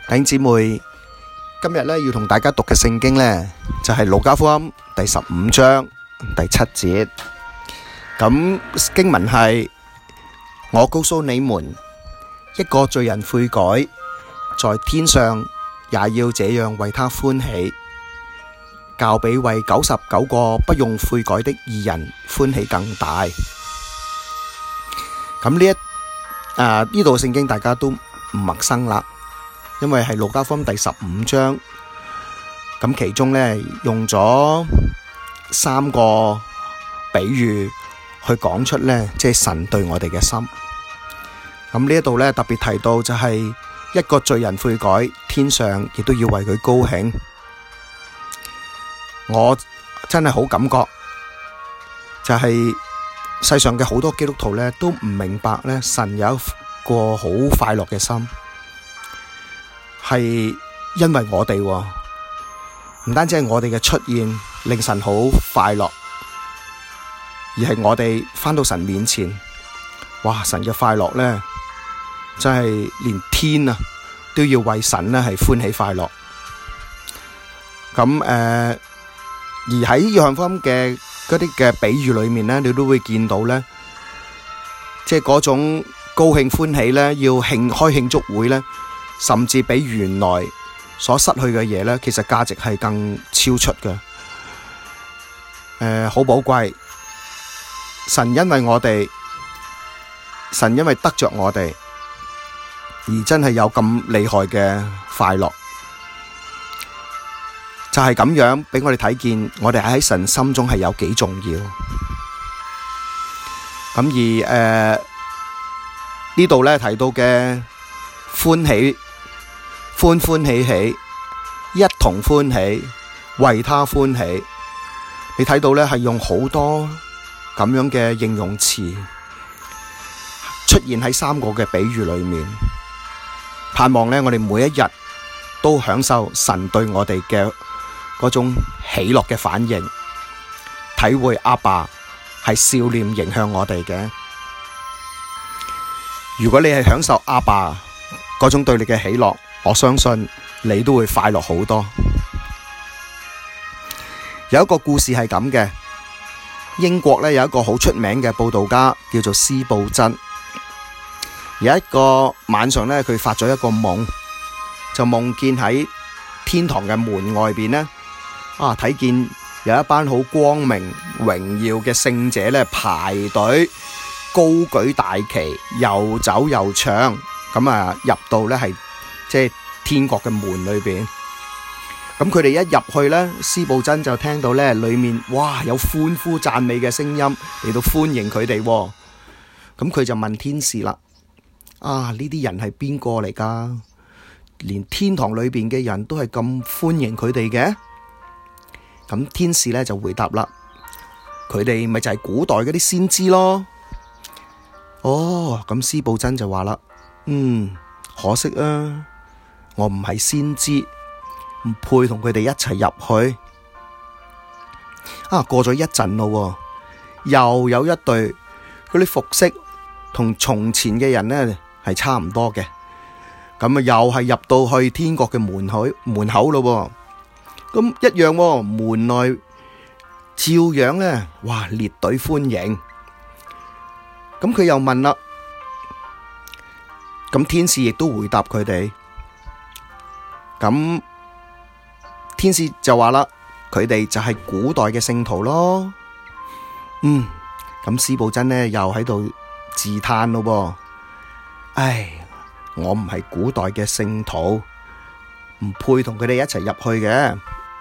弟兄姊妹，今日要同大家讀嘅聖經就係路加福音第15章第7節。咁經文係：我告訴你們，一個罪人悔改，在天上也要這樣為他歡喜，較比為99個不用悔改的義人歡喜更大。咁呢度聖經大家都唔陌生啦，因為係路加福音第15章，咁其中用咗3個比喻去講出即係神對我哋嘅心。咁呢度特別提到就係一個罪人悔改，天上亦都要為佢高興。我真係好感覺，就係世上嘅好多基督徒都唔明白神有一個好快樂嘅心，係因為我哋唔單止係我哋嘅出現令神好快樂，而係我哋返到神面前，哇！神嘅快樂真係連天都要為神係歡喜快樂。咁而喺約翰福音嘅嗰啲嘅比喻裏面你都會見到即係嗰種高興歡喜要開慶祝會甚至比原來所失去嘅嘢其實價值係更超出嘅。好寶貴。神因為我哋，神因為得着我哋，而真係有咁厲害嘅快樂，就係咁樣俾我哋睇見，我哋喺神心中係有幾重要。咁而呢度提到嘅歡喜，歡歡喜喜，一同歡喜，為他歡喜。你睇到係用好多咁樣嘅形容詞出現喺3個嘅比喻裏面，盼望我哋每一日都享受神對我哋嘅嗰種喜樂嘅反應，體會阿爸係笑臉迎向我哋嘅。如果你係享受阿爸嗰種對你嘅喜樂，我相信你都會快樂好多。有一個故事係咁嘅，英國有一個好出名嘅佈道家叫做司布真。有一個晚上佢發咗一個夢，就夢見喺天堂嘅門外邊睇見有一班好光明榮耀嘅聖者排隊高舉大旗，又走又唱，咁入到係即係天國嘅門裏邊。咁佢哋一入去司布真就聽到裏面哇有歡呼讚美嘅聲音嚟到歡迎佢哋。咁佢就問天使啦：呢啲人係邊個嚟㗎？連天堂裏邊嘅人都係咁歡迎佢哋嘅？咁天使就回答啦：佢哋咪就係古代嗰啲先知咯。咁司布真就話啦：可惜我唔係先知，唔配同佢哋一齊入去。過咗一陣咯，又有一隊嗰啲服飾同從前嘅人係差唔多嘅，咁又係入到去天國嘅門口咯。咁一樣門內照樣哇列隊歡迎。咁佢又問啦，咁天使亦都回答佢哋。咁天使就話啦，佢哋就係古代嘅聖徒咯。咁司布真又喺度自嘆咯。唉，我唔係古代嘅聖徒，唔配同佢哋一齊入去嘅。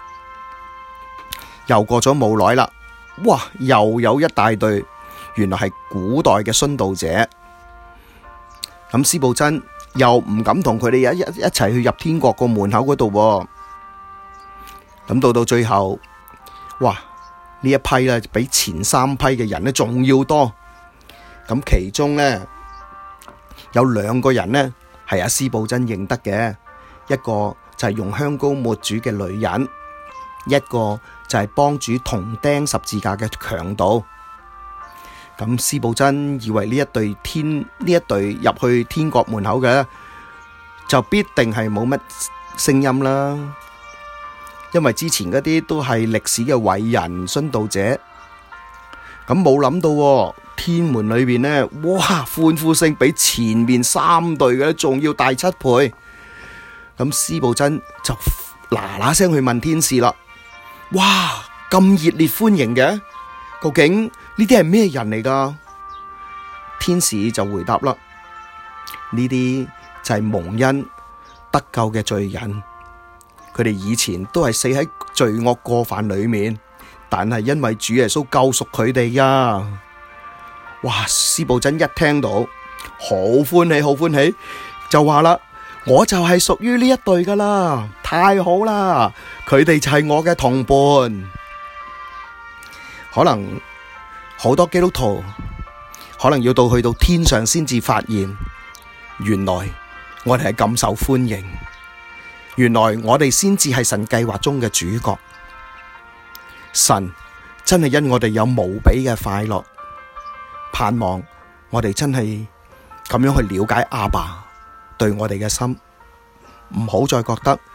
又過咗冇耐啦，哇，又有一大隊，原來係古代嘅殉道者。咁司布真又唔敢同佢哋一齊去入天國個門口嗰度。咁到最後，哇！呢一批比前3批嘅人仲要多。咁其中有2個人係阿司布真認得嘅，一個就係用香膏抹主嘅女人，一個就係幫主同釘十字架嘅強盜。咁司布真以為呢一隊入去天國門口嘅就必定係冇乜聲音啦。因為之前嗰啲都係歷史嘅偉人殉道者，咁冇諗到天門裏邊呢，哇，歡呼聲比前面3隊嘅仲要大7倍。咁司布真就嗱聲去問天使啦，哇，咁熱烈歡迎嘅，究竟呢啲係咩人嚟噶？天使就回答啦，呢啲就係蒙恩得救嘅罪人，佢哋以前都係死喺罪惡過犯裏面，但係因為主耶穌救贖佢哋呀。哇！司布真一聽到，好歡喜，好歡喜，就話啦，我就係屬於呢一隊噶啦，太好啦！佢哋就係我嘅同伴。可能好多基督徒可能要去到天上先至發現，原來我哋係咁受歡迎，原來我哋先至係神計劃中嘅主角。神真係因我哋有無比嘅快樂，盼望我哋真係咁樣去了解阿爸對我哋嘅心，唔好再覺得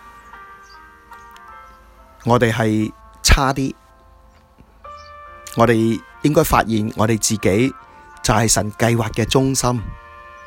我哋係差啲。我哋應該發現我哋自己就係神計劃嘅中心。